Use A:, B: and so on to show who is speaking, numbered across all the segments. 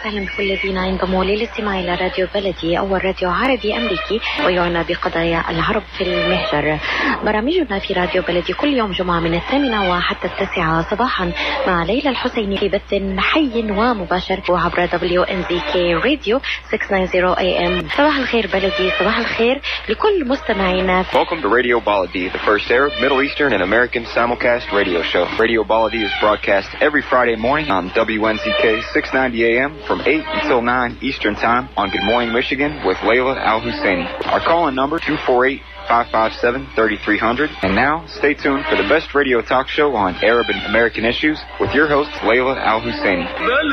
A: وسهلا بكل الذين ينضموا للاستماع إلى راديو بلدي، أول راديو عربي أمريكي ويعنى بقضايا العرب في المهجر. برامجنا في راديو بلدي كل يوم جمعة من 8 وحتى 9 صباحا مع ليلى الحسيني في بث حي ومباشر وعبر WNZK راديو 690 AM. صباح الخير بلدي، صباح الخير لكل مستمعينا.
B: Welcome to Radio Baladi, the first Arab, Middle Eastern, and American simulcast radio show. Radio Baladi is broadcast every Friday morning on WNZK 690 AM from 8 until 9 Eastern Time on Good Morning Michigan with Layla Al-Husseini. Our call-in number 248-557-3300. And now, stay tuned for the best radio talk show on Arab and American issues with your host, Layla Al-Husseini.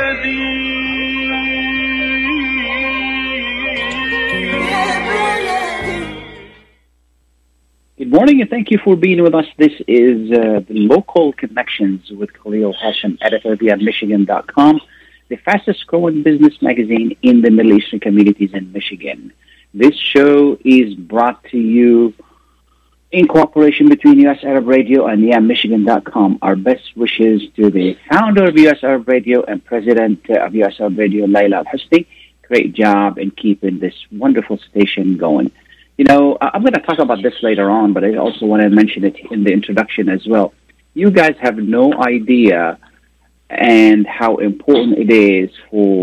C: Good morning and thank you for being with us. This is the Local Connections with Khalil Hashem, editor via Michigan.com, the fastest growing business magazine in the Middle Eastern communities in Michigan. This show is brought to you in cooperation between US Arab Radio and Michigan.com. Our best wishes to the founder of US Arab Radio and president of US Arab Radio, Layla Al-Husseini. Great job in keeping this wonderful station going. You know, I'm going to talk about this later on, but I also want to mention it in the introduction as well. You guys have no idea and how important it is for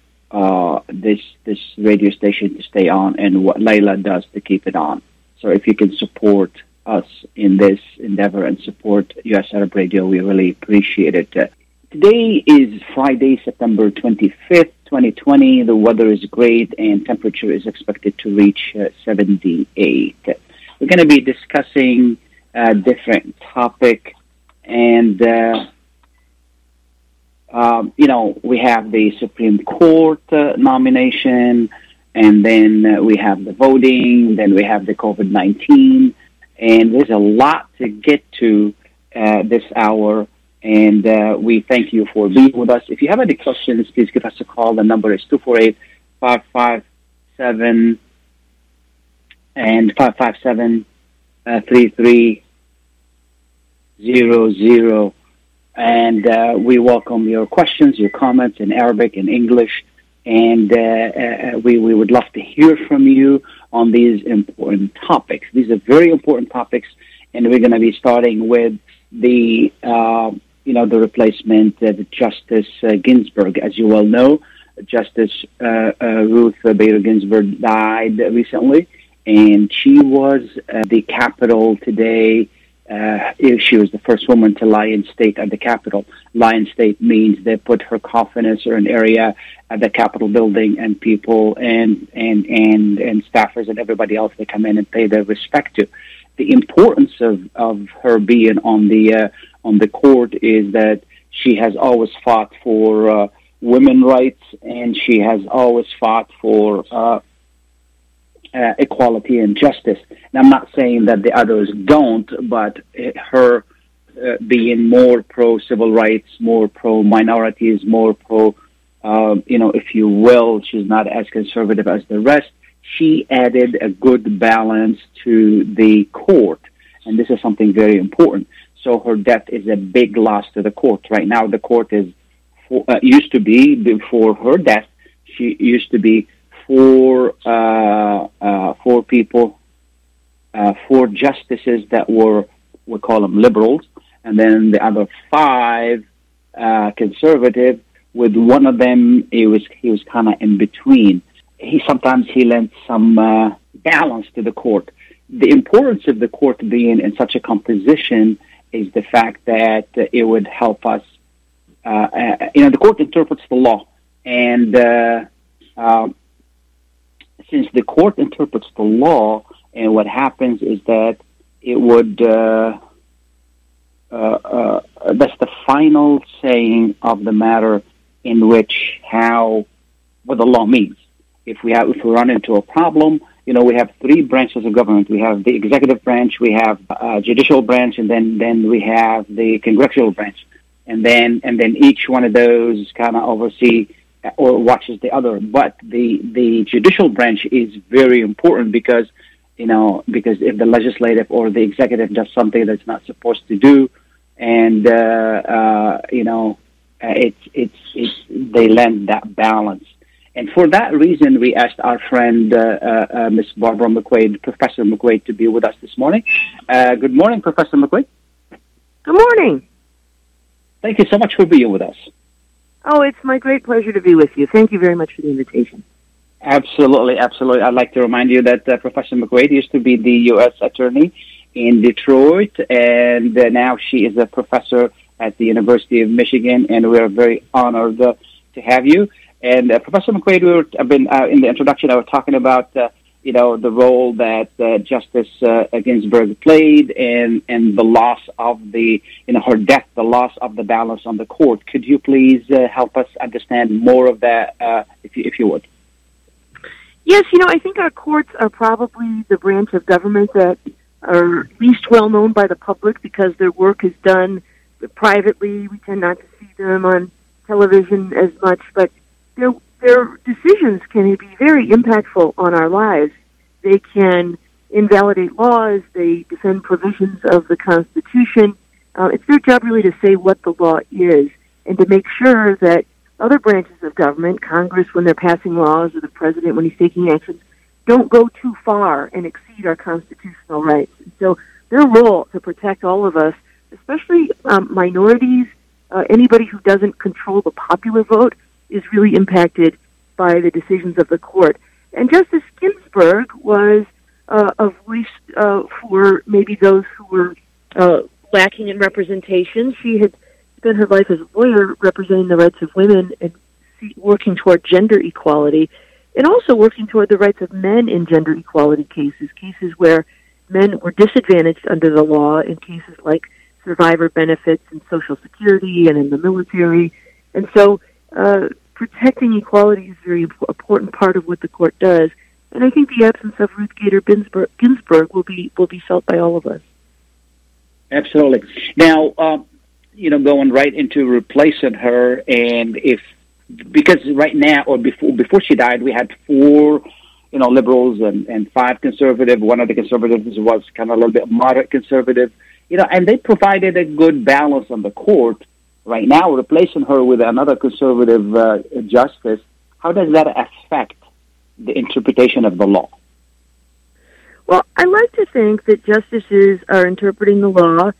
C: this radio station to stay on and what Layla does to keep it on. So if you can support us in this endeavor and support US Arab Radio, we really appreciate it. Today is Friday, September 25th, 2020. The weather is great and temperature is expected to reach 78. We're going to be discussing a different topic and, we have the Supreme Court nomination, and then we have the voting, then we have the COVID-19, and there's a lot to get to this hour. And we thank you for being with us. If you have any questions, please give us a call. The number is 248-557 and 557-3300. And we welcome your questions, your comments in Arabic and English. And we would love to hear from you on these important topics. These are very important topics, and we're going to be starting with the replacement of Justice Ginsburg. As you well know, Justice Ruth Bader Ginsburg died recently, and she was at the Capitol today. She was the first woman to lie in state at the Capitol. Lie in state means they put her coffin in a certain area at the Capitol building, and people and staffers and everybody else, they come in and pay their respect to. The importance of her being on the court is that she has always fought for women's rights, and she has always fought for equality and justice. And I'm not saying that the others don't, but her being more pro-civil rights, more pro-minorities, more if you will, she's not as conservative as the rest. She added a good balance to the court, and this is something very important. So her death is a big loss to the court. Right now, the court used to be, before her death, she used to be four people, four justices that were, we call them liberals, and then the other five conservative. With one of them, he was kind of in between. Sometimes he lent some balance to the court. The importance of the court being in such a composition is the fact that it would help us. The court interprets the law, and since the court interprets the law, and what happens is that it would that's the final saying of the matter in which what the law means. If we run into a problem, we have three branches of government. We have the executive branch, we have judicial branch, and then we have the congressional branch. And then each one of those kind of oversee or watches the other. But the judicial branch is very important because if the legislative or the executive does something that's not supposed to do, and they lend that balance. And for that reason, we asked our friend, Miss Barbara McQuaid, Professor McQuaid, to be with us this morning. Good morning, Professor McQuaid.
D: Good morning.
C: Thank you so much for being with us.
D: Oh, it's my great pleasure to be with you. Thank you very much for the invitation.
C: Absolutely, absolutely. I'd like to remind you that Professor McQuaid used to be the U.S. Attorney in Detroit, and now she is a professor at the University of Michigan, and we are very honored to have you. And Professor McQuaid, in the introduction, I was talking about the role that Justice Ginsburg played, and the loss of her death, the loss of the balance on the court. Could you please help us understand more of that, if you would?
D: Yes, I think our courts are probably the branch of government that are least well known by the public because their work is done privately. We tend not to see them on television as much, but their decisions can be very impactful on our lives. They can invalidate laws. They defend provisions of the Constitution. It's their job really to say what the law is and to make sure that other branches of government, Congress when they're passing laws or the president when he's taking actions, don't go too far and exceed our constitutional rights. And so their role to protect all of us, especially minorities, anybody who doesn't control the popular vote, is really impacted by the decisions of the court. And Justice Ginsburg was a voice for maybe those who were lacking in representation. She had spent her life as a lawyer representing the rights of women and working toward gender equality, and also working toward the rights of men in gender equality cases where men were disadvantaged under the law in cases like survivor benefits and Social Security and in the military. And so protecting equality is a very important part of what the court does. And I think the absence of Ruth Bader Ginsburg will be felt by all of us.
C: Absolutely. Now, going right into replacing her, and because right now or before she died, we had 4, liberals and 5 conservative. One of the conservatives was kind of a little bit moderate conservative, and they provided a good balance on the court. Right now, replacing her with another conservative justice, how does that affect the interpretation of the law?
D: Well, I like to think that justices are interpreting the law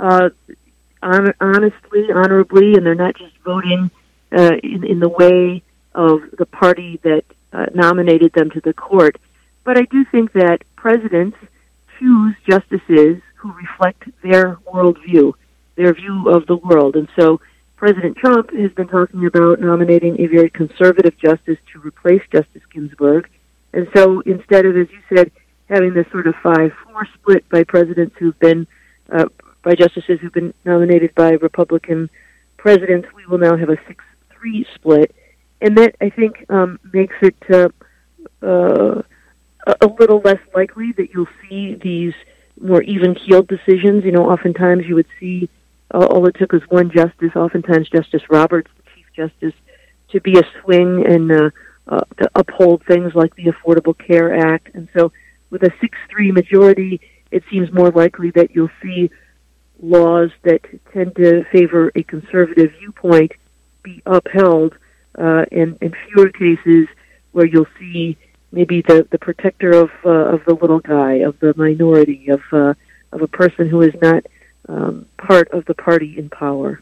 D: honestly, honorably, and they're not just voting in the way of the party that nominated them to the court. But I do think that presidents choose justices who reflect their worldview, their view of the world. And so President Trump has been talking about nominating a very conservative justice to replace Justice Ginsburg. And so instead of, as you said, having this sort of 5-4 split by presidents who've been by justices who've been nominated by Republican presidents, we will now have a 6-3 split. And that, I think, makes it a little less likely that you'll see these more even-keeled decisions. Oftentimes you would see all it took was one justice, oftentimes Justice Roberts, the Chief Justice, to be a swing and to uphold things like the Affordable Care Act. And so with a 6-3 majority, it seems more likely that you'll see laws that tend to favor a conservative viewpoint be upheld, and fewer cases where you'll see maybe the protector of the little guy, of the minority, of a person who is not part of the party in power.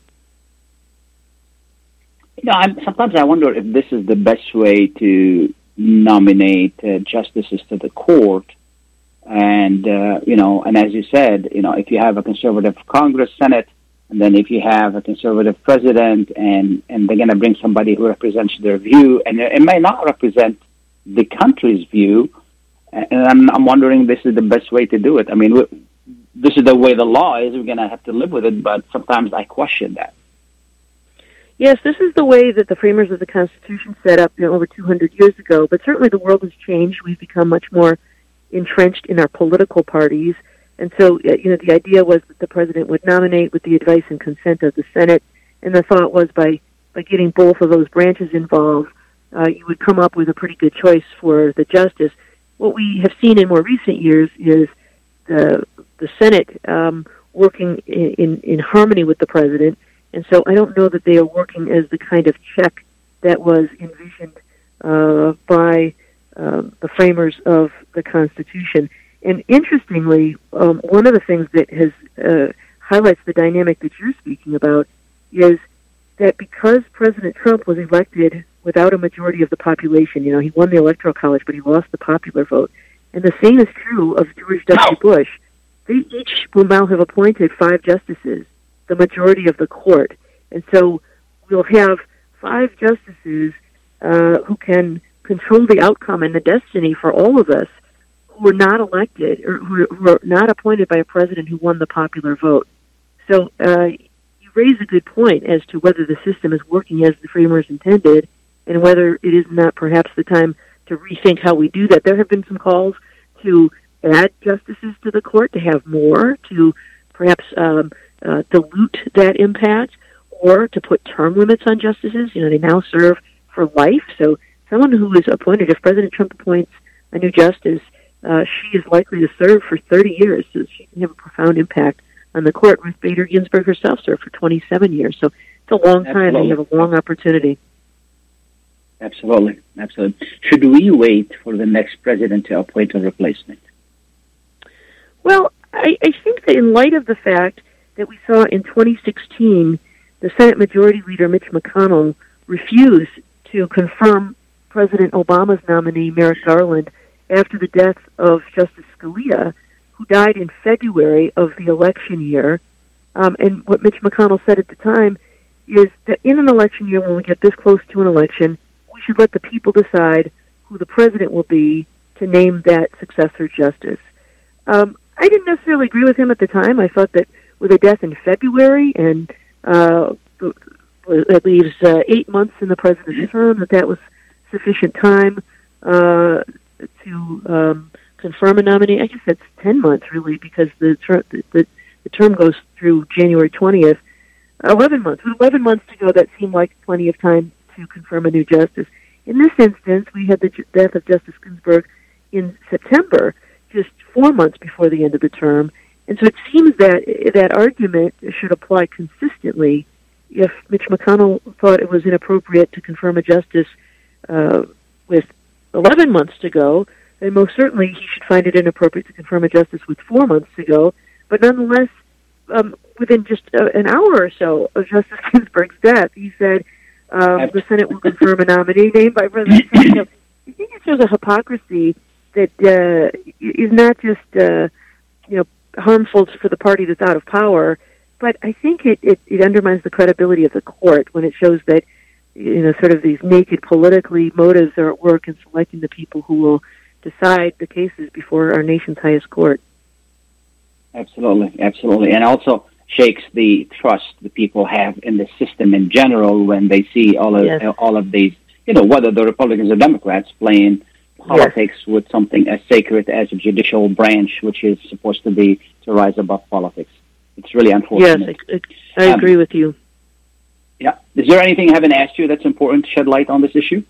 C: Sometimes I wonder if this is the best way to nominate justices to the court. And, and as you said, if you have a conservative Congress, Senate, and then if you have a conservative president, and they're going to bring somebody who represents their view, and it may not represent the country's view, and I'm wondering this is the best way to do it. I mean, this is the way the law is. We're going to have to live with it, but sometimes I question that.
D: Yes, this is the way that the framers of the Constitution set up over 200 years ago, but certainly the world has changed. We've become much more entrenched in our political parties. And so, the idea was that the president would nominate with the advice and consent of the Senate, and the thought was by getting both of those branches involved, you would come up with a pretty good choice for the justice. What we have seen in more recent years is the Senate working in harmony with the president And so I don't know that they are working as the kind of check that was envisioned by the framers of the Constitution. And interestingly, one of the things that has highlights the dynamic that you're speaking about is that because President Trump was elected without a majority of the population, he won the Electoral College, but he lost the popular vote. And the same is true of George W. Bush. They each will now have appointed 5 justices, the majority of the court. And so we'll have 5 justices who can control the outcome and the destiny for all of us who are not elected or who are not appointed by a president who won the popular vote. So you raise a good point as to whether the system is working as the framers intended and whether it is not perhaps the time to rethink how we do that. There have been some calls to add justices to the court, to have more, to perhaps dilute that impact, or to put term limits on justices. They now serve for life. So someone who is appointed, if President Trump appoints a new justice, she is likely to serve for 30 years. So she can have a profound impact on the court. Ruth Bader Ginsburg herself served for 27 years. So it's a long time, and you have a long opportunity.
C: Absolutely. Should we wait for the next president to appoint a replacement?
D: Well, I think that in light of the fact that we saw in 2016, the Senate Majority Leader Mitch McConnell refused to confirm President Obama's nominee, Merrick Garland, after the death of Justice Scalia, who died in February of the election year. And what Mitch McConnell said at the time is that in an election year, when we get this close to an election, we should let the people decide who the president will be to name that successor justice. I didn't necessarily agree with him at the time. I thought that with a death in February and that leaves 8 months in the president's term, that was sufficient time to confirm a nominee. I guess that's 10 months, really, because the term goes through January 20th. 11 months. With 11 months to go, that seemed like plenty of time to confirm a new justice. In this instance, we had the death of Justice Ginsburg in September, just 4 months before the end of the term. And so it seems that that argument should apply consistently. If Mitch McConnell thought it was inappropriate to confirm a justice with 11 months to go, then most certainly he should find it inappropriate to confirm a justice with 4 months to go. But nonetheless, within just an hour or so of Justice Ginsburg's death, he said the Senate will confirm a nominee named by President Trump. I think it shows a hypocrisy that is not just harmful for the party that's out of power, but I think it undermines the credibility of the court when it shows that sort of these naked politically motives are at work in selecting the people who will decide the cases before our nation's highest court. Absolutely, and also shakes the trust the people have in the system in general when they see all of these, whether the Republicans or Democrats playing politics with something as sacred as a judicial branch, which is supposed to rise above politics. It's really unfortunate. Yes, I agree with you.
C: Yeah. Is there anything I haven't asked you that's important to shed light on this issue?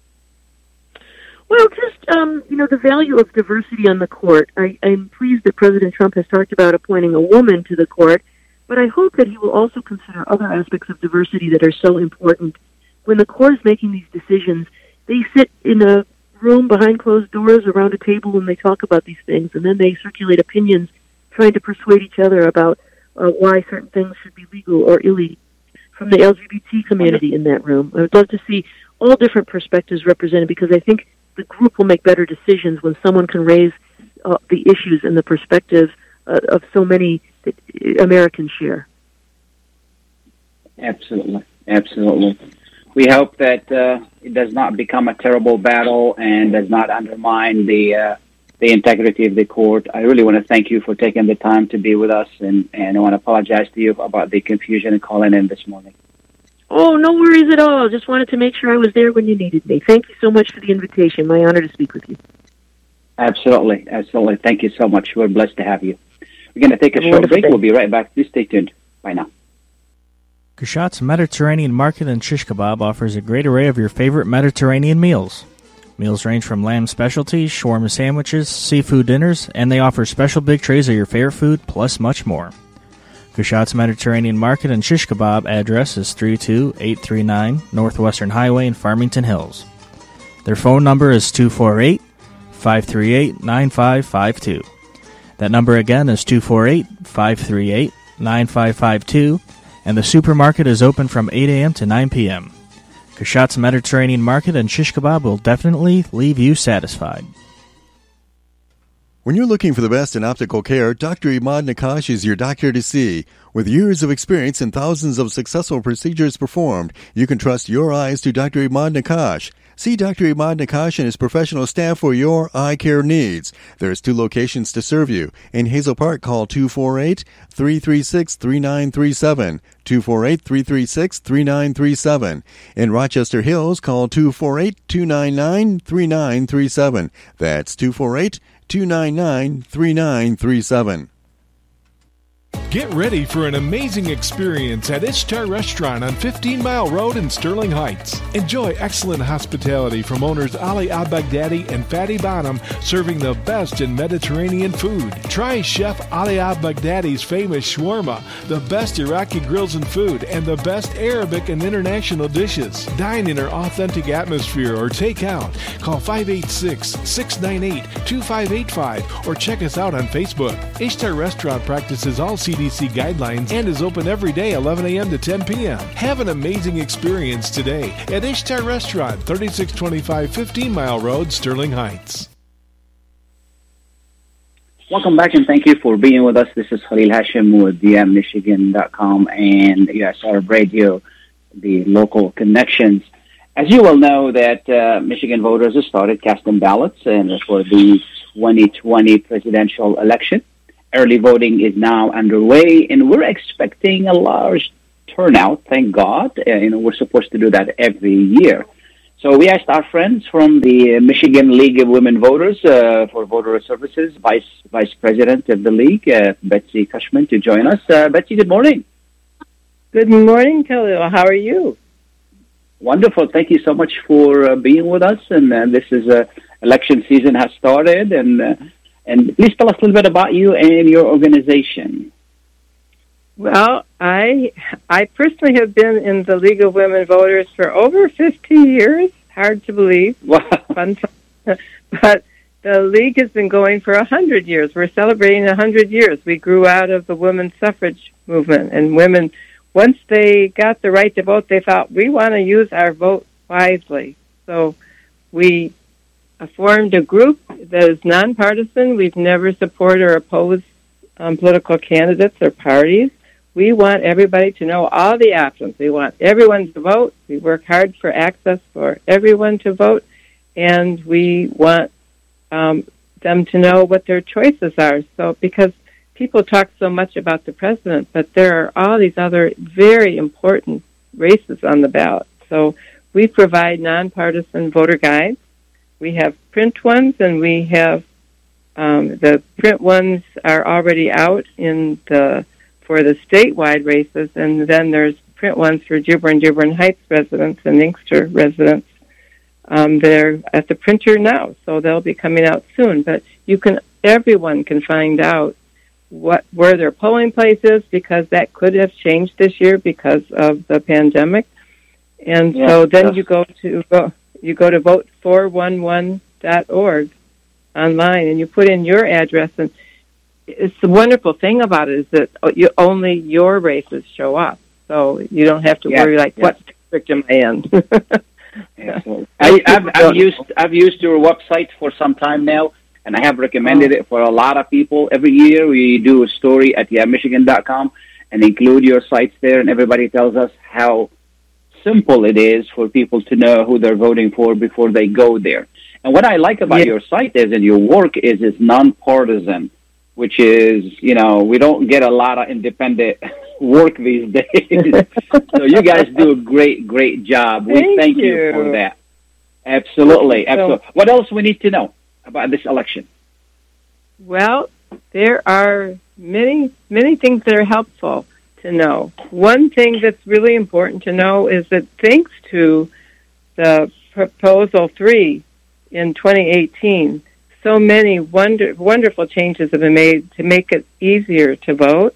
D: Well, just, the value of diversity on the court. I'm pleased that President Trump has talked about appointing a woman to the court, but I hope that he will also consider other aspects of diversity that are so important. When the court is making these decisions, they sit in a room behind closed doors around a table and they talk about these things, and then they circulate opinions trying to persuade each other about why certain things should be legal or illegal from the LGBT community in that room. I would love to see all different perspectives represented, because I think the group will make better decisions when someone can raise the issues and the perspectives of so many that Americans share.
C: Absolutely. We hope that it does not become a terrible battle and does not undermine the integrity of the court. I really want to thank you for taking the time to be with us, and I want to apologize to you about the confusion and calling in this morning.
D: Oh, no worries at all. Just wanted to make sure I was there when you needed me. Thank you so much for the invitation. My honor to speak with you.
C: Absolutely. Thank you so much. We're blessed to have you. We're going to take a short break. We'll be right back. Please stay tuned. Bye now.
E: Kushat's Mediterranean Market and Shish Kebab offers a great array of your favorite Mediterranean meals. Meals range from lamb specialties, shawarma sandwiches, seafood dinners, and they offer special big trays of your favorite food, plus much more. Kushat's Mediterranean Market and Shish Kebab address is 32839 Northwestern Highway in Farmington Hills. Their phone number is 248-538-9552. That number again is 248-538-9552, and the supermarket is open from 8 a.m. to 9 p.m. Kushat's Mediterranean Market and Shish Kebab will definitely leave you satisfied.
F: When you're looking for the best in optical care, Dr. Imad Nakash is your doctor to see. With years of experience and thousands of successful procedures performed, you can trust your eyes to Dr. Imad Nakash. See Dr. Imad Nakash and his professional staff for your eye care needs. There's 2 locations to serve you. In Hazel Park, call 248-336-3937. 248-336-3937. In Rochester Hills, call 248-299-3937. That's 248-299-3937.
G: Get ready for an amazing experience at Ishtar Restaurant on 15 Mile Road in Sterling Heights. Enjoy excellent hospitality from owners Ali Al-Baghdadi and Fatty Bonham, serving the best in Mediterranean food. Try Chef Ali Al-Baghdadi's famous shawarma, the best Iraqi grills and food, and the best Arabic and international dishes. Dine in our authentic atmosphere or take out. Call 586-698-2585 or check us out on Facebook. Ishtar Restaurant practices all CDC guidelines and is open every day 11 a.m. to 10 p.m. Have an amazing experience today at Ishtar Restaurant, 3625 15 Mile Road, Sterling Heights.
C: Welcome back, and thank you for being with us. This is Khalil Hashim with DMMichigan.com and USR Radio, the local connections. As you well know, that Michigan voters have started casting ballots and for the 2020 presidential election. Early voting is now underway, and we're expecting a large turnout, thank God. We're supposed to do that every year. So we asked our friends from the Michigan League of Women Voters for Voter Services, Vice President of the League, Betsy Cushman, to join us. Betsy, good morning.
H: Good morning, Khalil. How are you?
C: Wonderful. Thank you so much for being with us. And this is election season has started, and please tell us a little bit about you and your organization.
H: Well, I personally have been in the League of Women Voters for over 50 years. Hard to believe.
C: Wow.
H: Fun time. But the League has been going for 100 years. We're celebrating 100 years. We grew out of the women's suffrage movement, and women, once they got the right to vote, they thought, we want to use our vote wisely. So we formed a group that is nonpartisan. We've never supported or opposed political candidates or parties. We want everybody to know all the options. We want everyone to vote. We work hard for access for everyone to vote, and we want them to know what their choices are. So, because people talk so much about the president, but there are all these other very important races on the ballot. So we provide nonpartisan voter guides. We have print ones, and we have the print ones are already out for the statewide races, and then there's print ones for Dearborn Heights residents and Inkster residents. They're at the printer now, so they'll be coming out soon. But everyone can find out where their polling place is, because that could have changed this year because of the pandemic. And so then you go to vote411.org online, and you put in your address. And it's the wonderful thing about it is that only your races show up, so you don't have to worry what district am I in.
C: I've used your website for some time now, and I have recommended it for a lot of people. Every year we do a story at Michigan.com and include your sites there, and everybody tells us how simple it is for people to know who they're voting for before they go there. And what I like about your site is, and your work is nonpartisan, which is, we don't get a lot of independent work these days. So you guys do a great job. We thank you for that. Absolutely. What else we need to know about this election?
H: Well, there are many things that are helpful to know. One thing that's really important to know is that thanks to the Proposal 3 in 2018, so many wonderful changes have been made to make it easier to vote.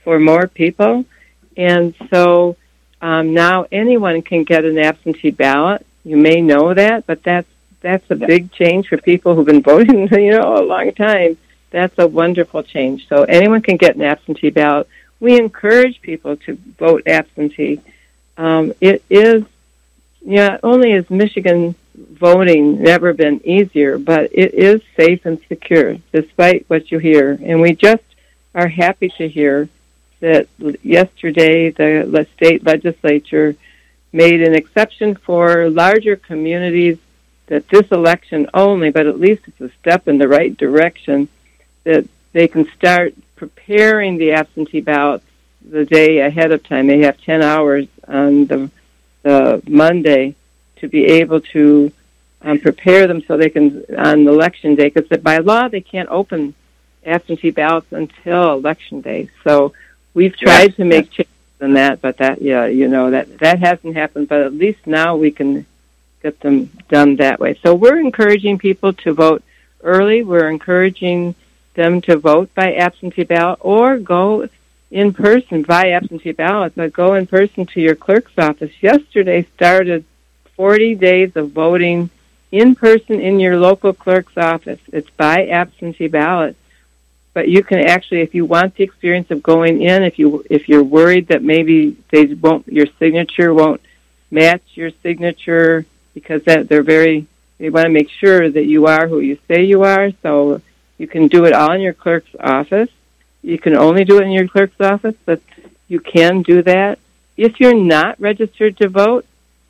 H: for more people. And so now anyone can get an absentee ballot. You may know that, but that's a big change for people who've been voting, a long time. That's a wonderful change. So anyone can get an absentee ballot. We encourage people to vote absentee. It is, not only has Michigan voting never been easier, but it is safe and secure, despite what you hear. And we just are happy to hear that yesterday the state legislature made an exception for larger communities, that this election only, but at least it's a step in the right direction, that they can start preparing the absentee ballots the day ahead of time. They have 10 hours on the Monday to be able to prepare them so they can, on election day, because by law they can't open absentee ballots until election day. So we've tried to make changes in that, but that hasn't happened, but at least now we can get them done that way. So we're encouraging people to vote early. We're encouraging them to vote by absentee ballot or go in person by absentee ballot, but go in person to your clerk's office. Yesterday started 40 days of voting in person in your local clerk's office. It's by absentee ballot. But you can actually, if you want the experience of going in, if you're worried that maybe your signature won't match your signature, because they want to make sure that you are who you say you are. So you can do it all in your clerk's office. You can only do it in your clerk's office, but you can do that. If you're not registered to vote,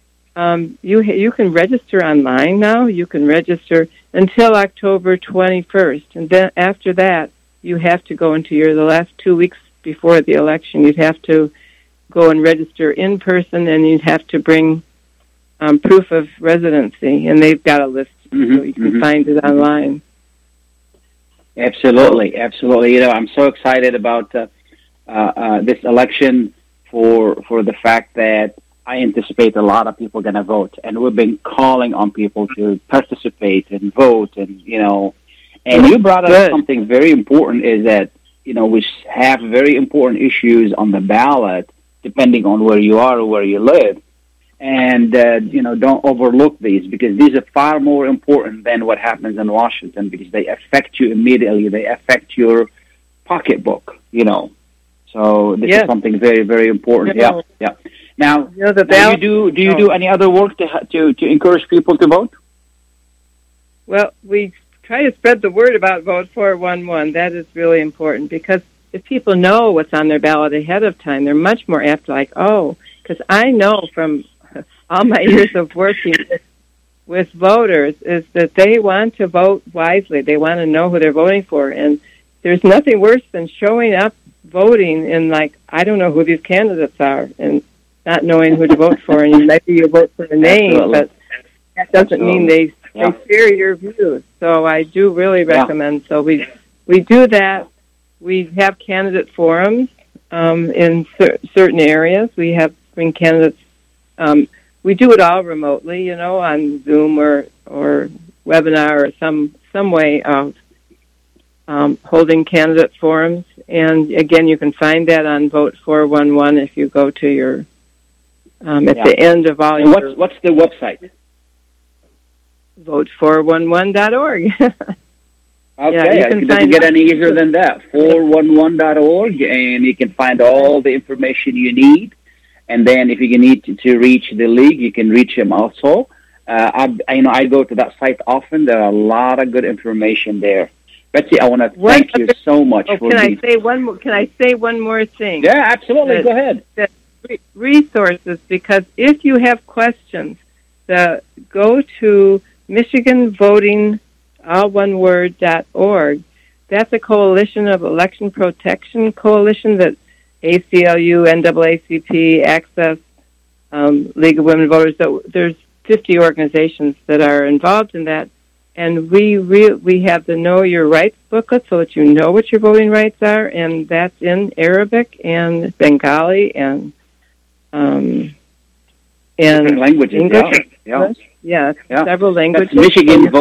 H: you can register online now. You can register until October 21st, and then after that, you have to go into the last 2 weeks before the election. You'd have to go and register in person, and you'd have to bring proof of residency, and they've got a list, so you can find it online.
C: Absolutely. I'm so excited about this election for the fact that I anticipate a lot of people are going to vote, and we've been calling on people to participate and vote, and and you brought up something very important, is that we have very important issues on the ballot depending on where you are or where you live. And, don't overlook these, because these are far more important than what happens in Washington, because they affect you immediately. They affect your pocketbook, So this is something very, very important. Yeah. Now, do you do any other work to encourage people to vote?
H: Well, we try to spread the word about Vote 411. That is really important, because if people know what's on their ballot ahead of time, they're much more apt to because I know from all my years of working with voters is that they want to vote wisely. They want to know who they're voting for. And there's nothing worse than showing up voting and I don't know who these candidates are, and not knowing who to vote for. And maybe you vote for the name, but that doesn't mean they share your views. So I do really recommend. So we do that. We have candidate forums in certain areas. We bring candidates. We do it all remotely, on Zoom or webinar or some way of holding candidate forums. And again, you can find that on Vote 411 if you go to your at the end of all your.
C: What's the website?
H: Vote411.org.
C: Okay, it doesn't get any easier than that. 411.org, and you can find all the information you need. And then if you need to reach the league, you can reach them also. I go to that site often. There are a lot of good information there. Betsy, I want to thank you so much for
H: Can I say one more thing?
C: Yeah, absolutely. Go ahead.
H: Resources, because if you have questions, go to Michigan Voting, all one word, .org. That's a coalition of election protection coalition that ACLU, NAACP, Access, League of Women Voters. So there's 50 organizations that are involved in that, and we have the Know Your Rights booklet so that you know what your voting rights are, and that's in Arabic and Bengali and
C: languages.
H: English. Yeah, several languages.
C: That's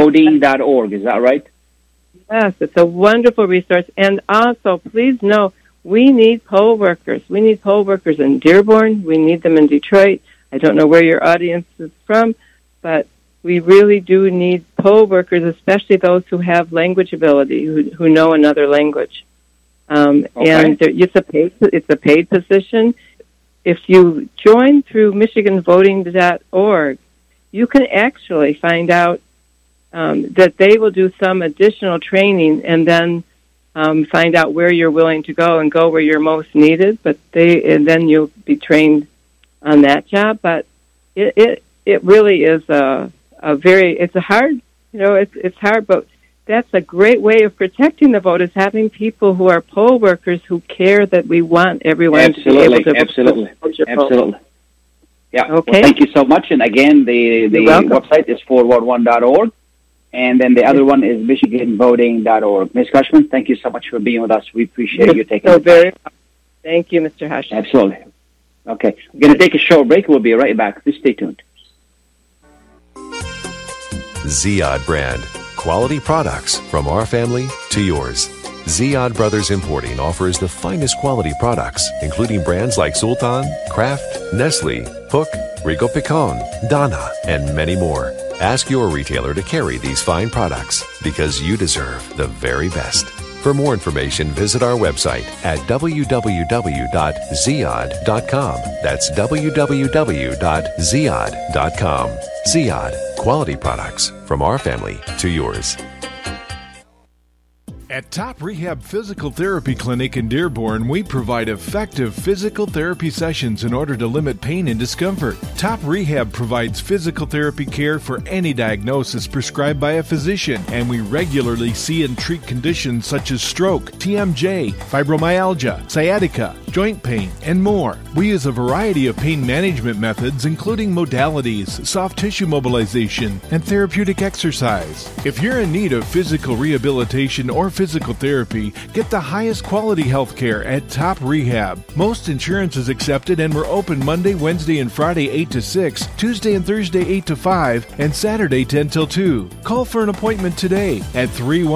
C: MichiganVoting.org, is that right?
H: Yes, it's a wonderful resource. And also, please know, we need poll workers. We need poll workers in Dearborn. We need them in Detroit. I don't know where your audience is from, but we really do need poll workers, especially those who have language ability, who know another language. And it's a paid position. If you join through MichiganVoting.org, you can actually find out that they will do some additional training and then find out where you're willing to go and go where you're most needed. And then you'll be trained on that job. But it really is it's hard, it's hard, but that's a great way of protecting the vote, is having people who are poll workers who care that we want everyone to be able to
C: Absolutely. Yeah.
H: Okay.
C: Well, thank you so much. And again, the website is 411.org. And then the other one is MichiganVoting.org. Ms. Cushman, thank you so much for being with us. We appreciate you taking the time.
H: Thank you, Mr. Hash.
C: Absolutely. Okay. We're going to take a short break. We'll be right back. Please stay tuned.
I: Ziyad brand. Quality products from our family to yours. Ziyad Brothers Importing offers the finest quality products, including brands like Sultan, Kraft, Nestle, Hook, Rico Picon, Donna, and many more. Ask your retailer to carry these fine products because you deserve the very best. For more information, visit our website at www.ziyad.com. That's www.ziyad.com. Ziyad, quality products from our family to yours.
G: At Top Rehab Physical Therapy Clinic in Dearborn, we provide effective physical therapy sessions in order to limit pain and discomfort. Top Rehab provides physical therapy care for any diagnosis prescribed by a physician, and we regularly see and treat conditions such as stroke, TMJ, fibromyalgia, sciatica, joint pain, and more. We use a variety of pain management methods, including modalities, soft tissue mobilization, and therapeutic exercise. If you're in need of physical rehabilitation or physical therapy, get the highest quality health care at Top Rehab. Most insurance is accepted, and we're open Monday, Wednesday, and Friday 8 to 6, Tuesday and Thursday 8 to 5, and Saturday 10 till 2. Call for an appointment today at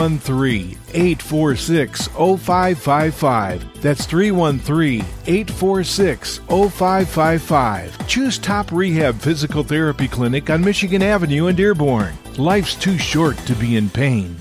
G: 313-846-0555. That's 313-846-0555. Choose Top Rehab Physical Therapy Clinic on Michigan Avenue in Dearborn. Life's too short to be in pain.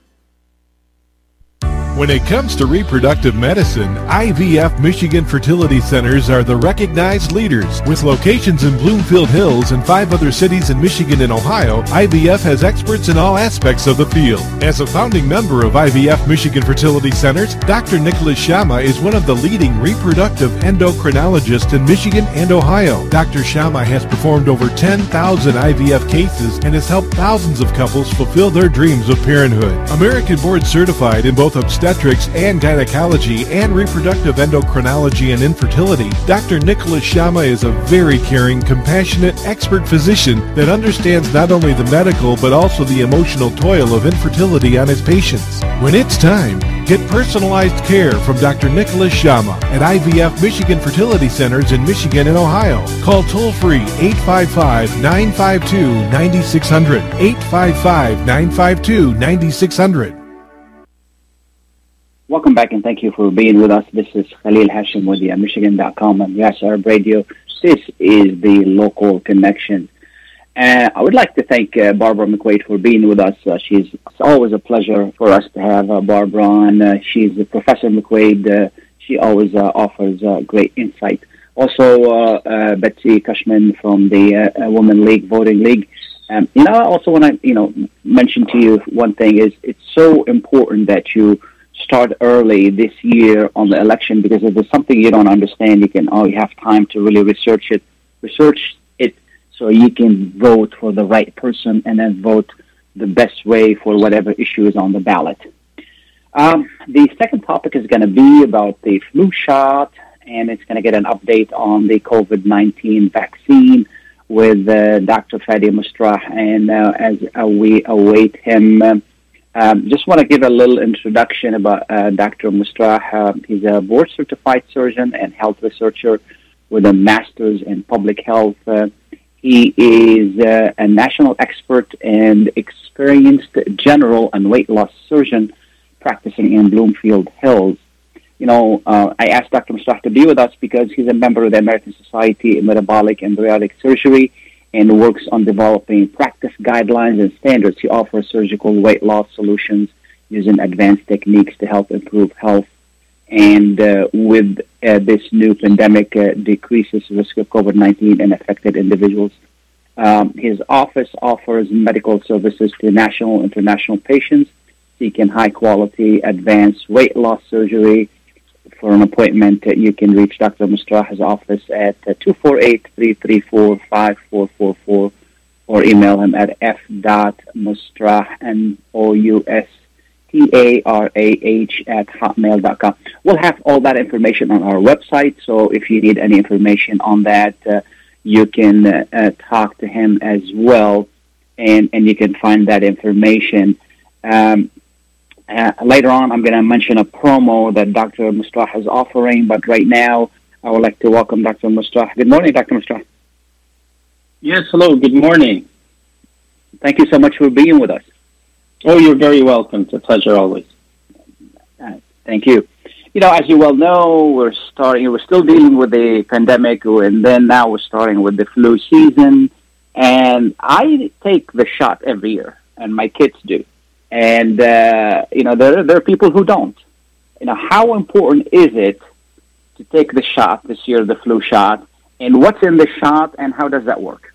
G: When it comes to reproductive medicine, IVF Michigan Fertility Centers are the recognized leaders. With locations in Bloomfield Hills and 5 other cities in Michigan and Ohio, IVF has experts in all aspects of the field. As a founding member of IVF Michigan Fertility Centers, Dr. Nicholas Shama is one of the leading reproductive endocrinologists in Michigan and Ohio. Dr. Shama has performed over 10,000 IVF cases and has helped thousands of couples fulfill their dreams of parenthood. American board certified in both obstetrics and gynecology and reproductive endocrinology and infertility, Dr. Nicholas Shama is a very caring, compassionate, expert physician that understands not only the medical but also the emotional toil of infertility on his patients. When it's time, get personalized care from Dr. Nicholas Shama at IVF Michigan Fertility Centers in Michigan and Ohio. Call toll-free 855-952-9600, 855-952-9600.
C: Welcome back, and thank you for being with us. This is Khalil Hashim with the Michigan.com and Yes Arab Radio. This is the local connection. I would like to thank Barbara McQuaid for being with us. It's always a pleasure for us to have Barbara on. She's Professor McQuaid. She always offers great insight. Also, Betsy Cushman from the Women League Voting League. I also want to mention to you one thing is it's so important that you start early this year on the election, because if there's something you don't understand, you have time to really research it so you can vote for the right person and then vote the best way for whatever issue is on the ballot. The second topic is going to be about the flu shot, and it's going to get an update on the COVID-19 vaccine with Dr. Fadi Mustrah, and as we await him. Just want to give a little introduction about Dr. Mustrah. He's a board-certified surgeon and health researcher with a master's in public health. He is a national expert and experienced general and weight loss surgeon practicing in Bloomfield Hills. I asked Dr. Musrah to be with us because he's a member of the American Society of Metabolic and Bariatric Surgery and works on developing practice guidelines and standards. He offers surgical weight loss solutions using advanced techniques to help improve health. And with this new pandemic, decreases the risk of COVID-19 in affected individuals. His office offers medical services to national and international patients seeking high-quality, advanced weight loss surgery. For an appointment, you can reach Dr. Musrah's office at 248-334-5444 or email him at f.musrah, MOUSTARAH @hotmail.com. We'll have all that information on our website, so if you need any information on that, you can talk to him as well, and you can find that information. Later on, I'm going to mention a promo that Dr. Musrah is offering, but right now, I would like to welcome Dr. Musrah. Good morning, Dr. Musrah.
J: Yes, hello, good morning.
C: Thank you so much for being with us.
J: Oh, you're very welcome. It's a pleasure always.
C: Thank you. As you well know, we're still dealing with the pandemic, and then now we're starting with the flu season. And I take the shot every year, and my kids do. And, there are people who don't. How important is it to take the shot this year, the flu shot, and what's in the shot, and how does that work?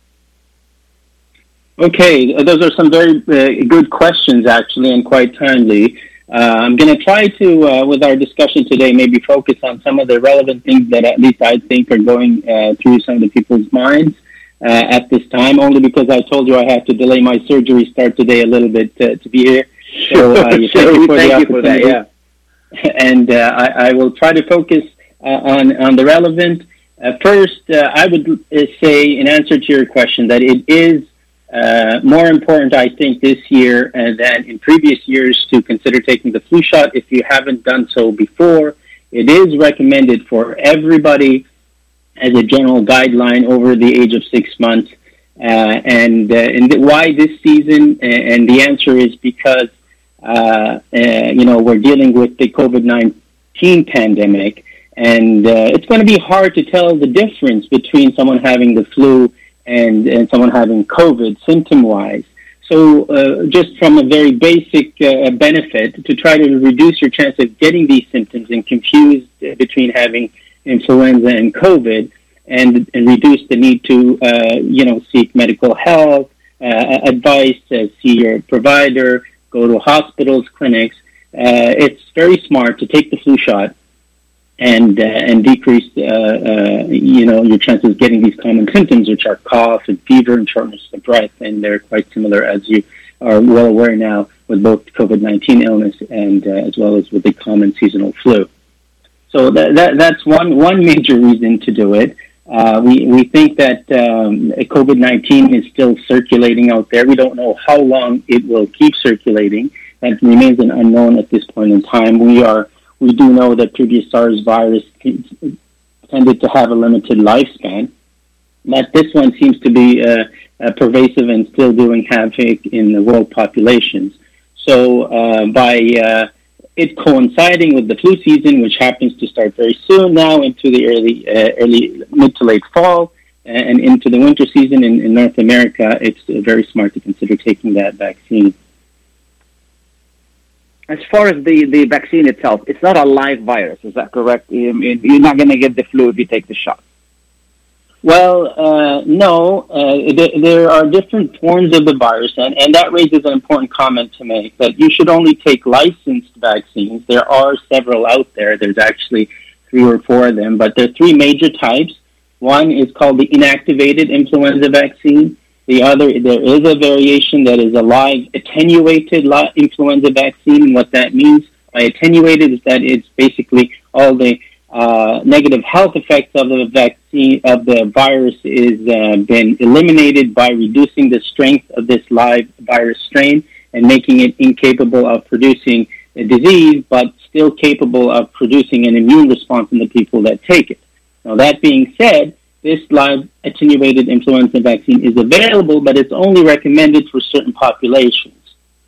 J: Okay, those are some very good questions, actually, and quite timely. I'm going to try to, with our discussion today, maybe focus on some of the relevant things that at least I think are going through some of the people's minds at this time, only because I told you I had to delay my surgery start today a little bit to be here. So
C: thank you for that, yeah.
J: And I will try to focus on the relevant. First, I would say, in answer to your question, that it is more important, I think, this year than in previous years to consider taking the flu shot if you haven't done so before. It is recommended for everybody as a general guideline over the age of 6 months. And why this season? And the answer is because, we're dealing with the COVID-19 pandemic, and it's going to be hard to tell the difference between someone having the flu and someone having COVID symptom-wise. So just from a very basic benefit, to try to reduce your chance of getting these symptoms and confused between having influenza and COVID, and reduce the need to, seek medical health advice, see your provider, go to hospitals, clinics. It's very smart to take the flu shot and decrease, your chances of getting these common symptoms, which are cough and fever and shortness of breath, and they're quite similar, as you are well aware now, with both COVID-19 illness and as well as with the common seasonal flu. So that's one major reason to do it. We think that COVID-19 is still circulating out there. We don't know how long it will keep circulating. That remains an unknown at this point in time. We do know that previous SARS virus tended to have a limited lifespan, but this one seems to be pervasive and still doing havoc in the world populations. So by it coinciding with the flu season, which happens to start very soon now into the early mid to late fall and into the winter season in North America, it's very smart to consider taking that vaccine.
C: As far as the vaccine itself, it's not a live virus, is that correct? You're not going to get the flu if you take the shot.
J: Well, no. There are different forms of the virus, and that raises an important comment to make, that you should only take licensed vaccines. There are several out there. There's actually 3 or 4 of them, but there are 3 major types. One is called the inactivated influenza vaccine. The other, there is a variation that is a live attenuated influenza vaccine. And what that means by attenuated is that it's basically all the negative health effects of the vaccine, of the virus, is been eliminated by reducing the strength of this live virus strain and making it incapable of producing a disease, but still capable of producing an immune response in the people that take it. Now, that being said, this live attenuated influenza vaccine is available, but it's only recommended for certain populations.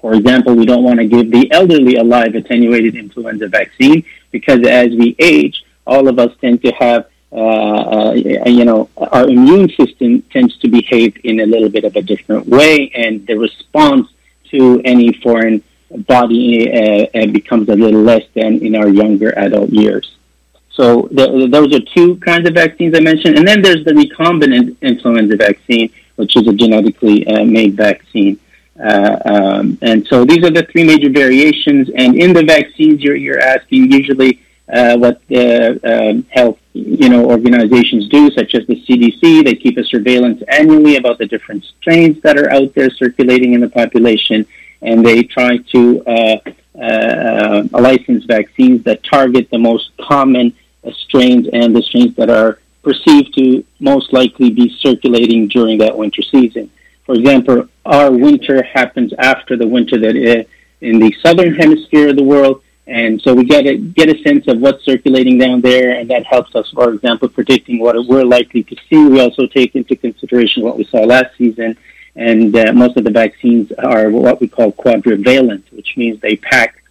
J: For example, we don't want to give the elderly a live attenuated influenza vaccine because as we age, all of us tend to have, our immune system tends to behave in a little bit of a different way, and the response to any foreign body becomes a little less than in our younger adult years. So those are two kinds of vaccines I mentioned. And then there's the recombinant influenza vaccine, which is a genetically made vaccine. And so these are the three major variations. And in the vaccines, you're asking usually what the health organizations do, such as the CDC. They keep a surveillance annually about the different strains that are out there circulating in the population, and they try to license vaccines that target the most common strains and the strains that are perceived to most likely be circulating during that winter season. For example, our winter happens after the winter that in the southern hemisphere of the world, and so we get a sense of what's circulating down there, and that helps us, for example, predicting what we're likely to see. We also take into consideration what we saw last season, and most of the vaccines are what we call quadrivalent, which means they pack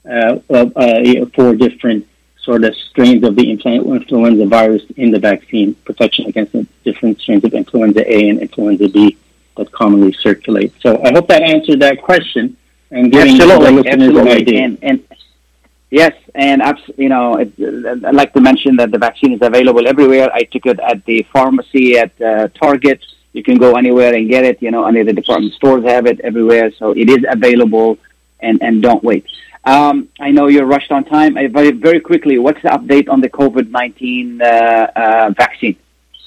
J: 4 different sort of strains of the influenza virus in the vaccine, protection against the different strains of influenza A and influenza B that commonly circulate. So I hope that answered that question and giving the listeners an idea.
C: And yes, and I'd like to mention that the vaccine is available everywhere. I took it at the pharmacy, at Target. You can go anywhere and get it. Any of the department stores have it everywhere. So it is available, and don't wait. I know you're rushed on time. Very, very quickly, what's the update on the COVID-19 vaccine?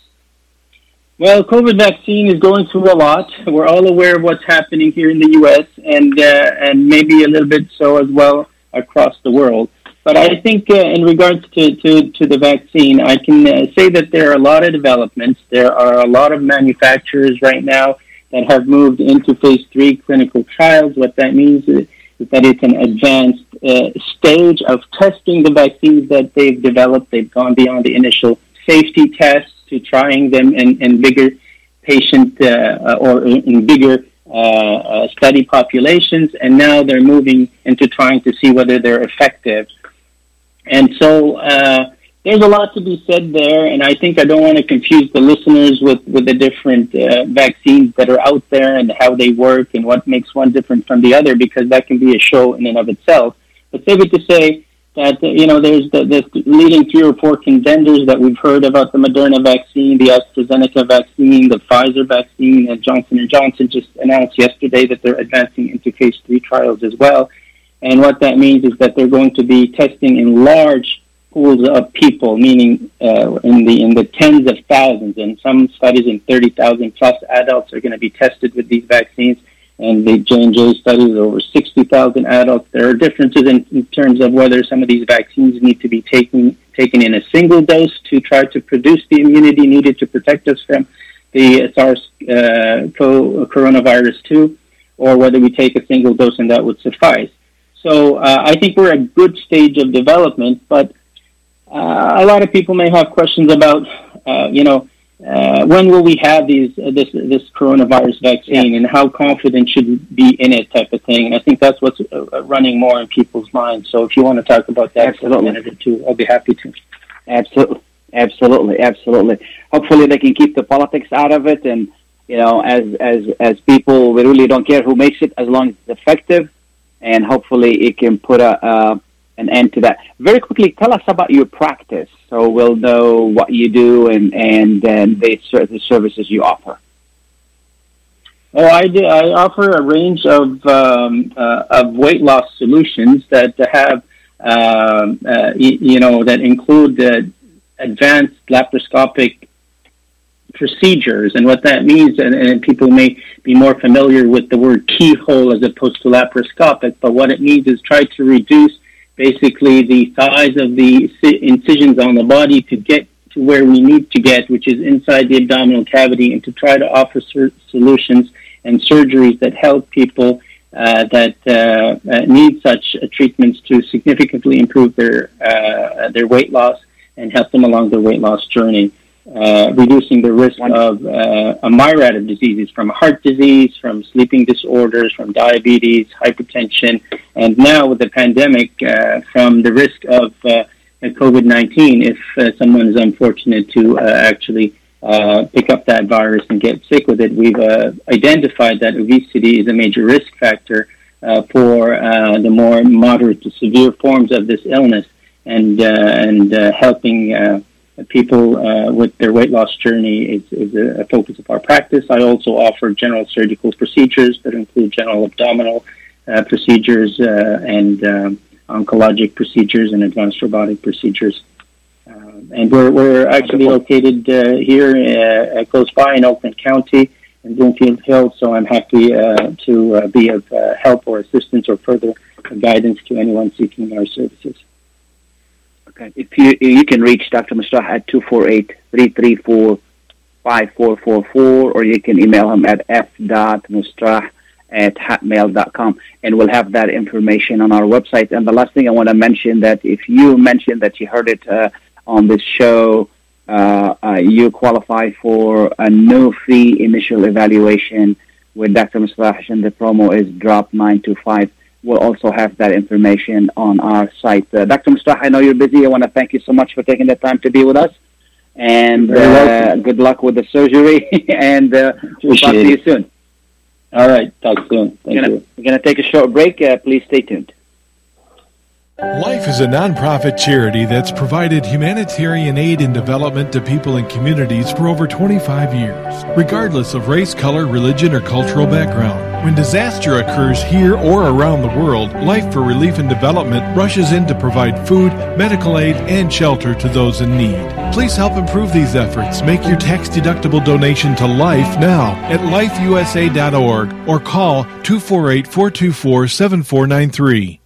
J: Well, COVID vaccine is going through a lot. We're all aware of what's happening here in the U.S. and maybe a little bit so as well across the world. But I think in regards to the vaccine, I can say that there are a lot of developments. There are a lot of manufacturers right now that have moved into phase 3 clinical trials. What that means is that it's an advanced stage of testing the vaccines that they've developed. They've gone beyond the initial safety tests to trying them in bigger patient or in bigger study populations, and now they're moving into trying to see whether they're effective. And so there's a lot to be said there, and I think I don't want to confuse the listeners with the different vaccines that are out there and how they work and what makes one different from the other, because that can be a show in and of itself. But safe to say that, there's the leading 3 or 4 contenders that we've heard about: the Moderna vaccine, the AstraZeneca vaccine, the Pfizer vaccine, and Johnson & Johnson just announced yesterday that they're advancing into phase 3 trials as well. And what that means is that they're going to be testing in large pools of people, meaning in the tens of thousands, and some studies in 30,000 plus adults are going to be tested with these vaccines. And the J&J studies over 60,000 adults. There are differences in terms of whether some of these vaccines need to be taken in a single dose to try to produce the immunity needed to protect us from the SARS coronavirus 2, or whether we take a single dose and that would suffice. So I think we're at a good stage of development, but a lot of people may have questions about, when will we have this coronavirus vaccine, and how confident should we be in it, type of thing. And I think that's what's running more in people's minds. So if you want to talk about that for a minute or two, I'll be happy to.
C: Absolutely. Hopefully they can keep the politics out of it, and as people, we really don't care who makes it as long as it's effective, and hopefully it can put an end to that. Very quickly, tell us about your practice, so we'll know what you do and the services you offer.
J: Oh, I offer a range of weight loss solutions that have that include advanced laparoscopic procedures. And what that means, and people may be more familiar with the word keyhole as opposed to laparoscopic, but what it means is try to reduce basically the size of the incisions on the body to get to where we need to get, which is inside the abdominal cavity, and to try to offer solutions and surgeries that help people that need such treatments to significantly improve their weight loss and help them along their weight loss journey. reducing the risk of a myriad of diseases, from heart disease, from sleeping disorders, from diabetes, hypertension, and now with the pandemic, from the risk of COVID-19 if someone is unfortunate to actually pick up that virus and get sick with it. We've identified that obesity is a major risk factor for the more moderate to severe forms of this illness, and helping people with their weight loss journey is a focus of our practice. I also offer general surgical procedures that include general abdominal procedures and oncologic procedures and advanced robotic procedures. And we're actually located here close by in Oakland County in Bloomfield Hills, so I'm happy to be of help or assistance or further guidance to anyone seeking our services.
C: Okay. If you can reach Dr. Mustah at 248-334-5444, or you can email him at f.mustah@hotmail.com, and we'll have that information on our website. And the last thing I want to mention, that if you mentioned that you heard it on this show, you qualify for a no fee initial evaluation with Dr. Mustah, and the promo is drop 925. We'll also have that information on our site. Dr. Mustah, I know you're busy. I want to thank you so much for taking the time to be with us. And good luck with the surgery. And we'll talk to you soon.
J: All right. Talk soon. Thank you.
C: We're going to take a short break. Please stay tuned.
G: Life is a nonprofit charity that's provided humanitarian aid and development to people and communities for over 25 years, regardless of race, color, religion, or cultural background. When disaster occurs here or around the world, Life for Relief and Development rushes in to provide food, medical aid, and shelter to those in need. Please help improve these efforts. Make your tax-deductible donation to Life now at lifeusa.org or call 248-424-7493.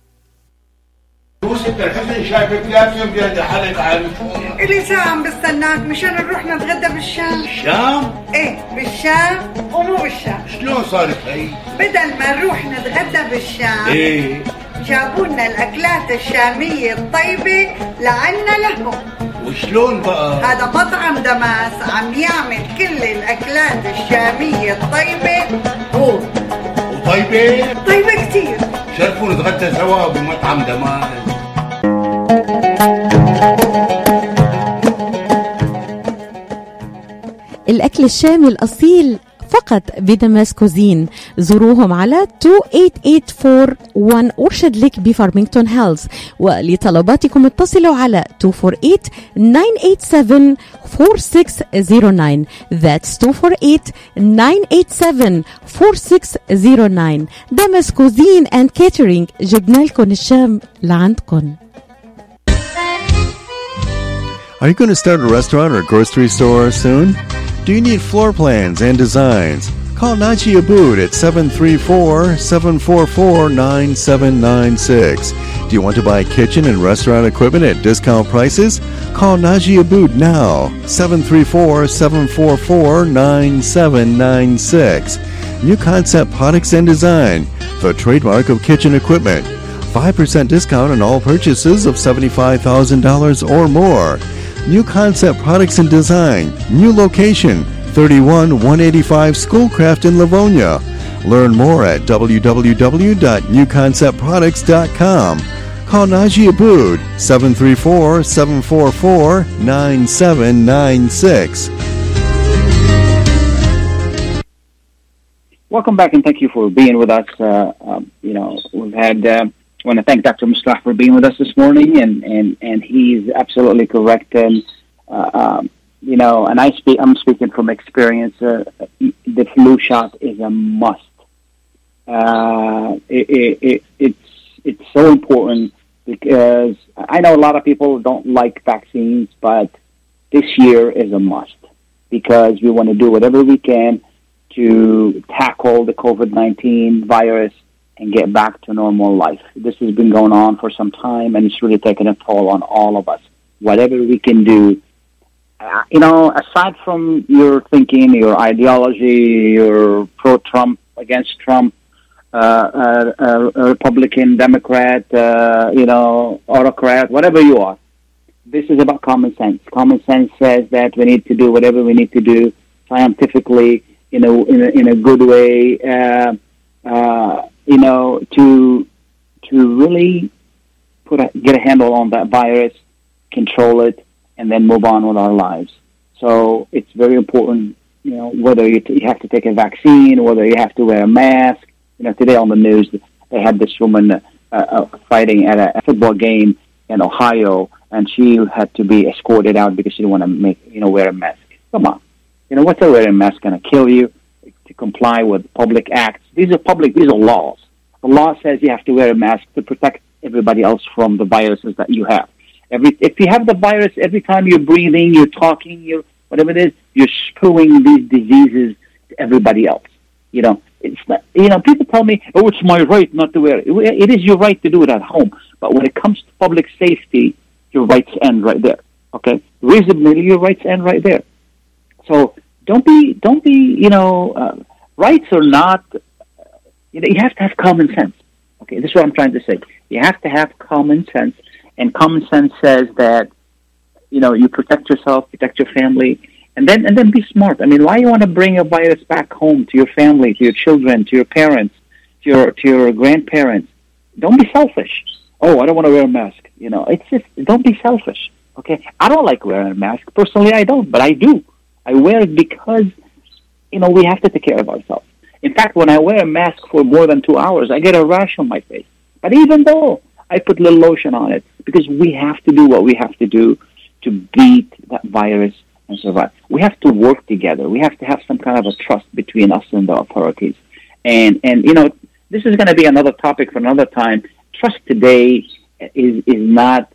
K: شايفك لازم بدي حالك عن إلي ساعة عم بستناك مشان نروح نتغدى بالشام. الشام؟ ايه بالشام ومو بالشام. شلون صارت هي؟ بدل ما نروح نتغدى بالشام ايه جابوا لنا الأكلات الشامية الطيبة لعنا لهم. وشلون بقى؟ هذا مطعم دماس عم يعمل كل الأكلات الشامية الطيبة هو. وطيبة؟ طيبة كتير. شرفوا نتغدى سوا بمطعم دماس.
L: الأكل الشامي الأصيل فقط بدماس كوزين. زوروهم على 28841 أورشد ليك بفارمينغتون هيلز، ولطلباتكم اتصلوا على 248-987-4609. That's 248-987-4609. دماس كوزين and catering، جبنا لكم الشام لعندكم.
F: Are you going to start a restaurant or grocery store soon? Do you need floor plans and designs? Call Naji Abood at 734-744-9796. Do you want to buy kitchen and restaurant equipment at discount prices? Call Naji Abood now, 734-744-9796. New Concept Products and Design, the trademark of kitchen equipment. 5% discount on all purchases of $75,000 or more. New Concept Products and Design, new location, 31185 Schoolcraft in Livonia. Learn more at www.newconceptproducts.com. Call Naji Abood, 734-744-9796.
C: Welcome back, and thank you for being with us. We've had... I want to thank Dr. Mustah for being with us this morning, and he's absolutely correct. And and I'm speaking from experience. The flu shot is a must. It's so important, because I know a lot of people don't like vaccines, but this year is a must, because we want to do whatever we can to tackle the COVID-19 virus and get back to normal life. This has been going on for some time, and it's really taking a toll on all of us. Whatever we can do, aside from your thinking, your ideology, your pro-Trump, against Trump, Republican, Democrat, autocrat, whatever you are, This is about common sense. Common sense says that we need to do whatever we need to do scientifically in a good way, to really get a handle on that virus, control it, and then move on with our lives. So it's very important, whether you have to take a vaccine, whether you have to wear a mask. Today on the news, they had this woman fighting at a football game in Ohio, and she had to be escorted out because she didn't want to wear a mask. Come on. What's a wearing a mask going to kill you? To comply with public acts. These are laws. The law says you have to wear a mask to protect everybody else from the viruses that you have. If you have the virus, every time you're breathing, you're talking, whatever it is, you're spewing these diseases to everybody else. It's not, people tell me, oh, it's my right not to wear it. It is your right to do it at home. But when it comes to public safety, your rights end right there. Okay? Reasonably, your rights end right there. So don't be, rights or not, you have to have common sense. Okay? This is what I'm trying to say. You have to have common sense. And common sense says that, you protect yourself, protect your family, and then be smart. I mean, why you want to bring a virus back home to your family, to your children, to your parents, to your grandparents? Don't be selfish. Oh, I don't want to wear a mask. It's just, don't be selfish. Okay? I don't like wearing a mask. Personally, I don't, but I do. I wear it because, we have to take care of ourselves. In fact, when I wear a mask for more than 2 hours, I get a rash on my face. But even though I put a little lotion on it, because we have to do what we have to do to beat that virus and survive. We have to work together. We have to have some kind of a trust between us and the authorities. And this is going to be another topic for another time. Trust today is not,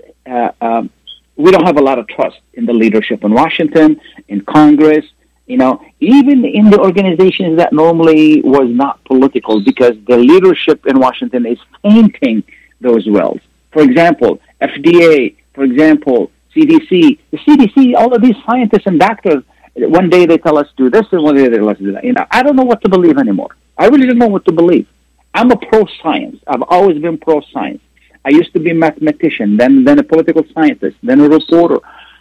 C: we don't have a lot of trust in the leadership in Washington, in Congress, even in the organizations that normally was not political, because the leadership in Washington is painting those wells. For example, FDA, for example, CDC. The CDC, all of these scientists and doctors, one day they tell us do this, and one day they tell us do that. I don't know what to believe anymore. I really don't know what to believe. I'm a pro-science. I've always been pro-science. I used to be a mathematician, then a political scientist, then a reporter,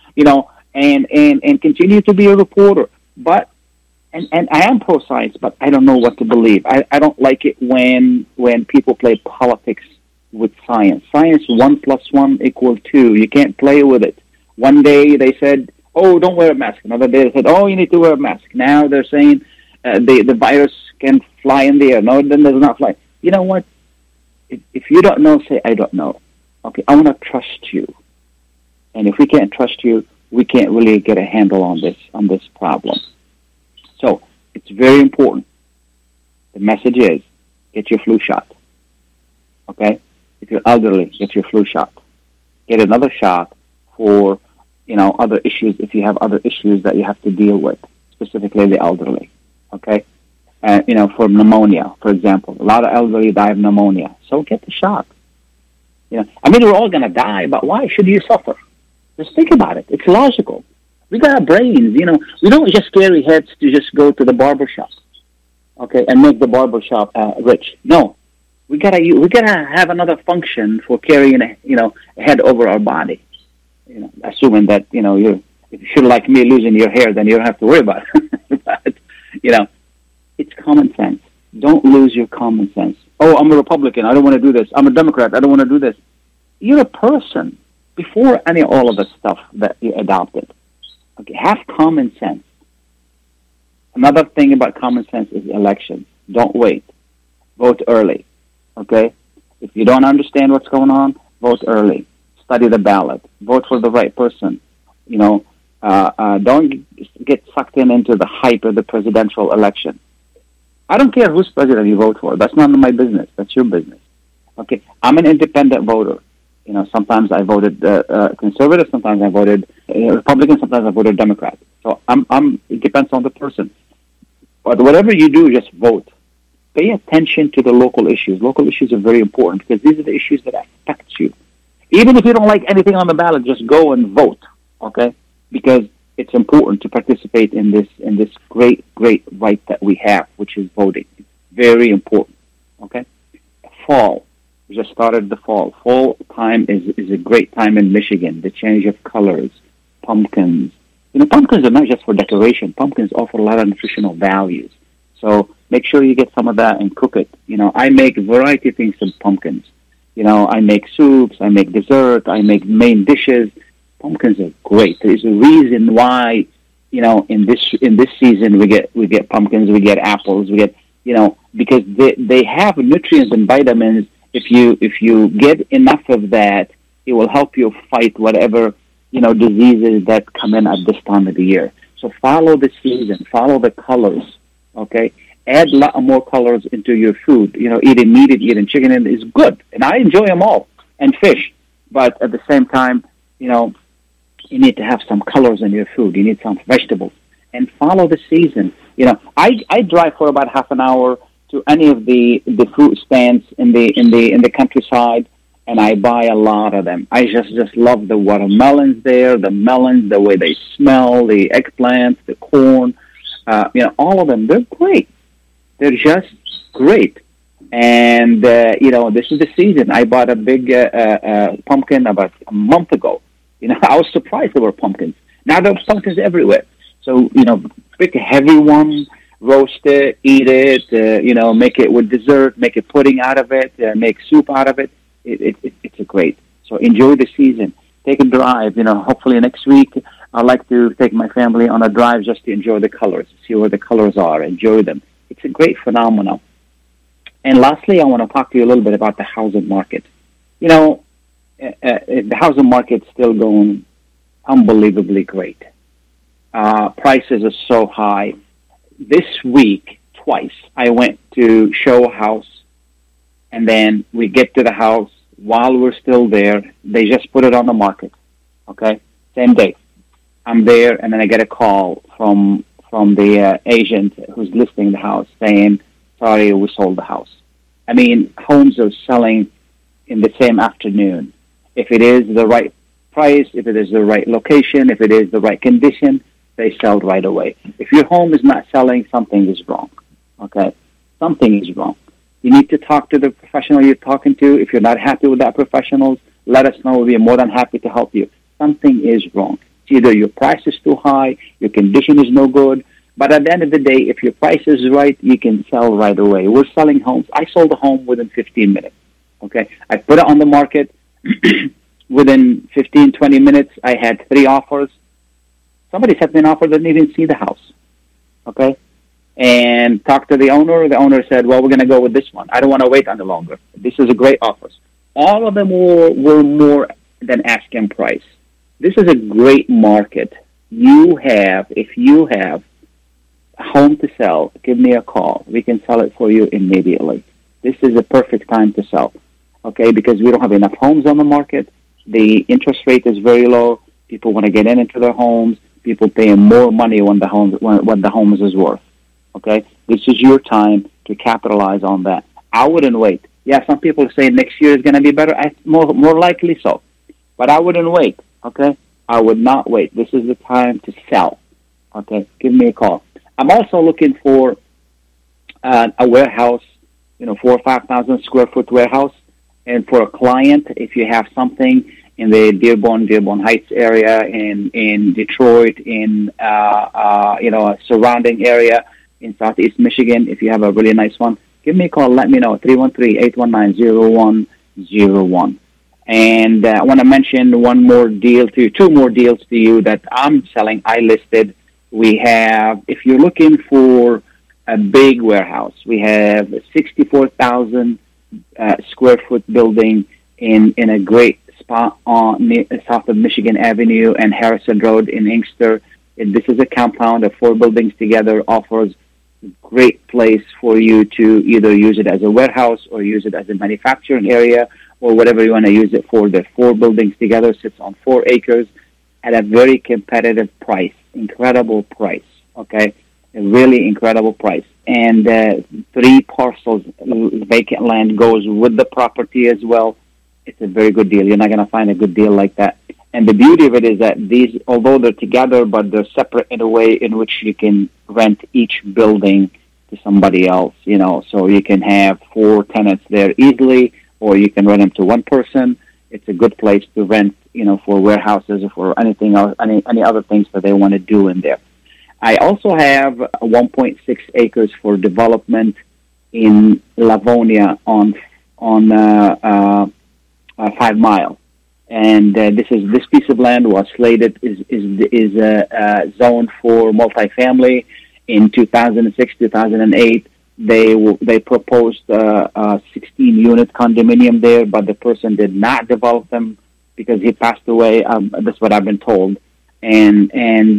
C: and continue to be a reporter. But and I am pro-science, but I don't know what to believe. I don't like it when people play politics with science. Science, 1 + 1 = 2. You can't play with it. One day they said, oh, don't wear a mask. Another day they said, oh, you need to wear a mask. Now they're saying the virus can fly in the air. No, then does not fly. You know what? If you don't know, say, I don't know. Okay, I want to trust you. And if we can't trust you, we can't really get a handle on this problem. So it's very important. The message is, get your flu shot. Okay? If you're elderly, get your flu shot. Get another shot for, other issues, if you have other issues that you have to deal with, specifically the elderly. Okay? For pneumonia, for example. A lot of elderly die of pneumonia. So get the shot. We're all going to die, but why should you suffer? Just think about it. It's logical. We got brains, We don't just carry heads to just go to the barber shop, okay, and make the barber shop rich. No. We gotta have another function for carrying a head over our body. Assuming that if you're like me losing your hair, then you don't have to worry about it. But it's common sense. Don't lose your common sense. Oh, I'm a Republican. I don't want to do this. I'm a Democrat. I don't want to do this. You're a person before all of the stuff that you adopted. Okay, have common sense. Another thing about common sense is elections. Don't wait. Vote early. Okay? If you don't understand what's going on, vote early. Study the ballot. Vote for the right person. Don't get sucked into the hype of the presidential election. I don't care whose president you vote for. That's none of my business. That's your business. Okay? I'm an independent voter. Sometimes I voted conservative, sometimes I voted Republican, sometimes I voted Democrat. So it depends on the person. But whatever you do, just vote. Pay attention to the local issues. Local issues are very important because these are the issues that affect you. Even if you don't like anything on the ballot, just go and vote, okay? Because it's important to participate in this great right that we have, which is voting. It's very important, okay? Fall. We just started the fall. Fall time is a great time in Michigan. The change of colors, pumpkins. Pumpkins are not just for decoration. Pumpkins offer a lot of nutritional values. So make sure you get some of that and cook it. I make a variety of things with pumpkins. I make soups, I make dessert, I make main dishes. Pumpkins are great. There's a reason why, in this season we get pumpkins, we get apples, we get, because they have nutrients and vitamins. If you get enough of that, it will help you fight whatever, diseases that come in at this time of the year. So follow the season, follow the colors, okay? Add a lot more colors into your food. Eating meat and eating chicken is good, and I enjoy them all, and fish. But at the same time, you need to have some colors in your food. You need some vegetables, and follow the season. I drive for about half an hour to any of the fruit stands in the countryside, and I buy a lot of them. I just love the watermelons there, the melons, the way they smell, the eggplants, the corn. All of them. They're great. They're just great. And, this is the season. I bought a big pumpkin about a month ago. I was surprised there were pumpkins. Now there are pumpkins everywhere. So, pick a heavy one, roast it, eat it, make it with dessert, make a pudding out of it, make soup out of it. It's a great. So enjoy the season. Take a drive. Hopefully next week I'd like to take my family on a drive just to enjoy the colors, see where the colors are, enjoy them. It's a great phenomenon. And lastly, I want to talk to you a little bit about the housing market. The housing market's still going unbelievably great. Prices are so high. This week, twice, I went to show a house, and then we get to the house. While we're still there, they just put it on the market, okay? Same day. I'm there, and then I get a call from the agent who's listing the house saying, sorry, we sold the house. I mean, homes are selling in the same afternoon. If it is the right price, if it is the right location, if it is the right condition, they sell right away. If your home is not selling, something is wrong, okay? Something is wrong. You need to talk to the professional you're talking to. If you're not happy with that professional, let us know. We'll be more than happy to help you. Something is wrong. It's either your price is too high, your condition is no good, but at the end of the day, if your price is right, you can sell right away. We're selling homes. I sold a home within 15 minutes, okay? I put it on the market. Within 15, 20 minutes, I had 3 offers. Somebody sent me an offer that didn't even see the house, okay? And talked to the owner. The owner said, well, we're going to go with this one. I don't want to wait any longer. This is a great offer. All of them were more than asking price. This is a great market. If you have a home to sell, give me a call. We can sell it for you immediately. This is a perfect time to sell, okay, because we don't have enough homes on the market. The interest rate is very low. People want to get into their homes. People paying more money when the homes is worth. Okay, this is your time to capitalize on that. I wouldn't wait. Yeah, some people say next year is going to be better. More likely so, but I wouldn't wait. Okay, I would not wait. This is the time to sell. Okay, give me a call. I'm also looking for a warehouse, 4,000 or 5,000 square foot warehouse, and for a client, if you have something in the Dearborn Heights area, in Detroit, in a surrounding area in Southeast Michigan, if you have a really nice one, give me a call. Let me know, 313-819-0101. And I want to mention two more deals to you that I'm selling. I listed. We have, if you're looking for a big warehouse, we have a 64,000 square foot building in a great spot south of Michigan Avenue and Harrison Road in Inkster. This is a compound of 4 buildings together, offers a great place for you to either use it as a warehouse or use it as a manufacturing area or whatever you want to use it for. The 4 buildings together sits on 4 acres at a very competitive price, incredible price, okay? A really incredible price. And 3 parcels, vacant land goes with the property as well. It's a very good deal. You're not going to find a good deal like that. And the beauty of it is that these, although they're together, but they're separate in a way in which you can rent each building to somebody else, so you can have 4 tenants there easily, or you can rent them to one person. It's a good place to rent, for warehouses or for anything else, any other things that they want to do in there. I also have 1.6 acres for development in Livonia on 5 Mile, and this piece of land was slated is zoned for multifamily. In 2006, 2008, they proposed a 16-unit condominium there, but the person did not develop them because he passed away. That's what I've been told. And then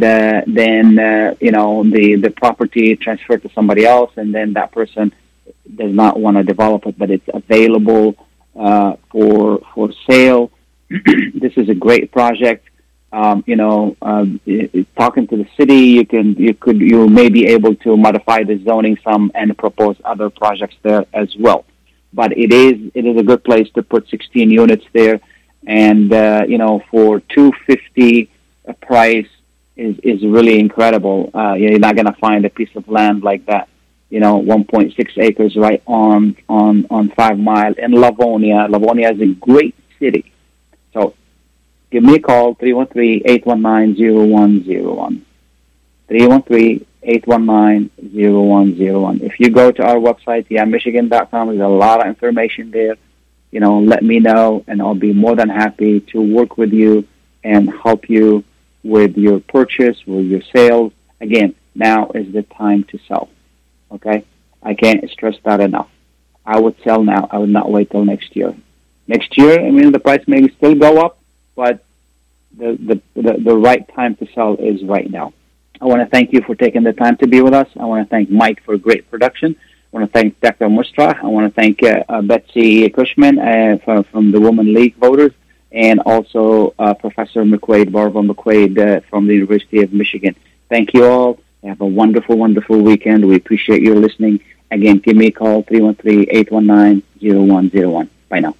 C: the property transferred to somebody else, and then that person does not want to develop it, but it's available for sale. This is a great project. Talking to the city, you may be able to modify the zoning some and propose other projects there as well. But it is a good place to put 16 units there, and for $250 a price is really incredible. You're not going to find a piece of land like that. 1.6 acres right on 5 Mile in Livonia. Livonia is a great city. So give me a call, 313-819-0101. 313-819-0101. If you go to our website, yamichigan.com, there's a lot of information there. Let me know, and I'll be more than happy to work with you and help you with your purchase, with your sales. Again, now is the time to sell. Okay? I can't stress that enough. I would sell now. I would not wait till next year. Next year, the price may still go up, but the right time to sell is right now. I want to thank you for taking the time to be with us. I want to thank Mike for great production. I want to thank Dr. Mustra. I want to thank Betsy Cushman from the Women League voters, and also Professor McQuaid, Barbara McQuaid from the University of Michigan. Thank you all. Have a wonderful, wonderful weekend. We appreciate your listening. Again, give me a call, 313-819-0101. Bye now.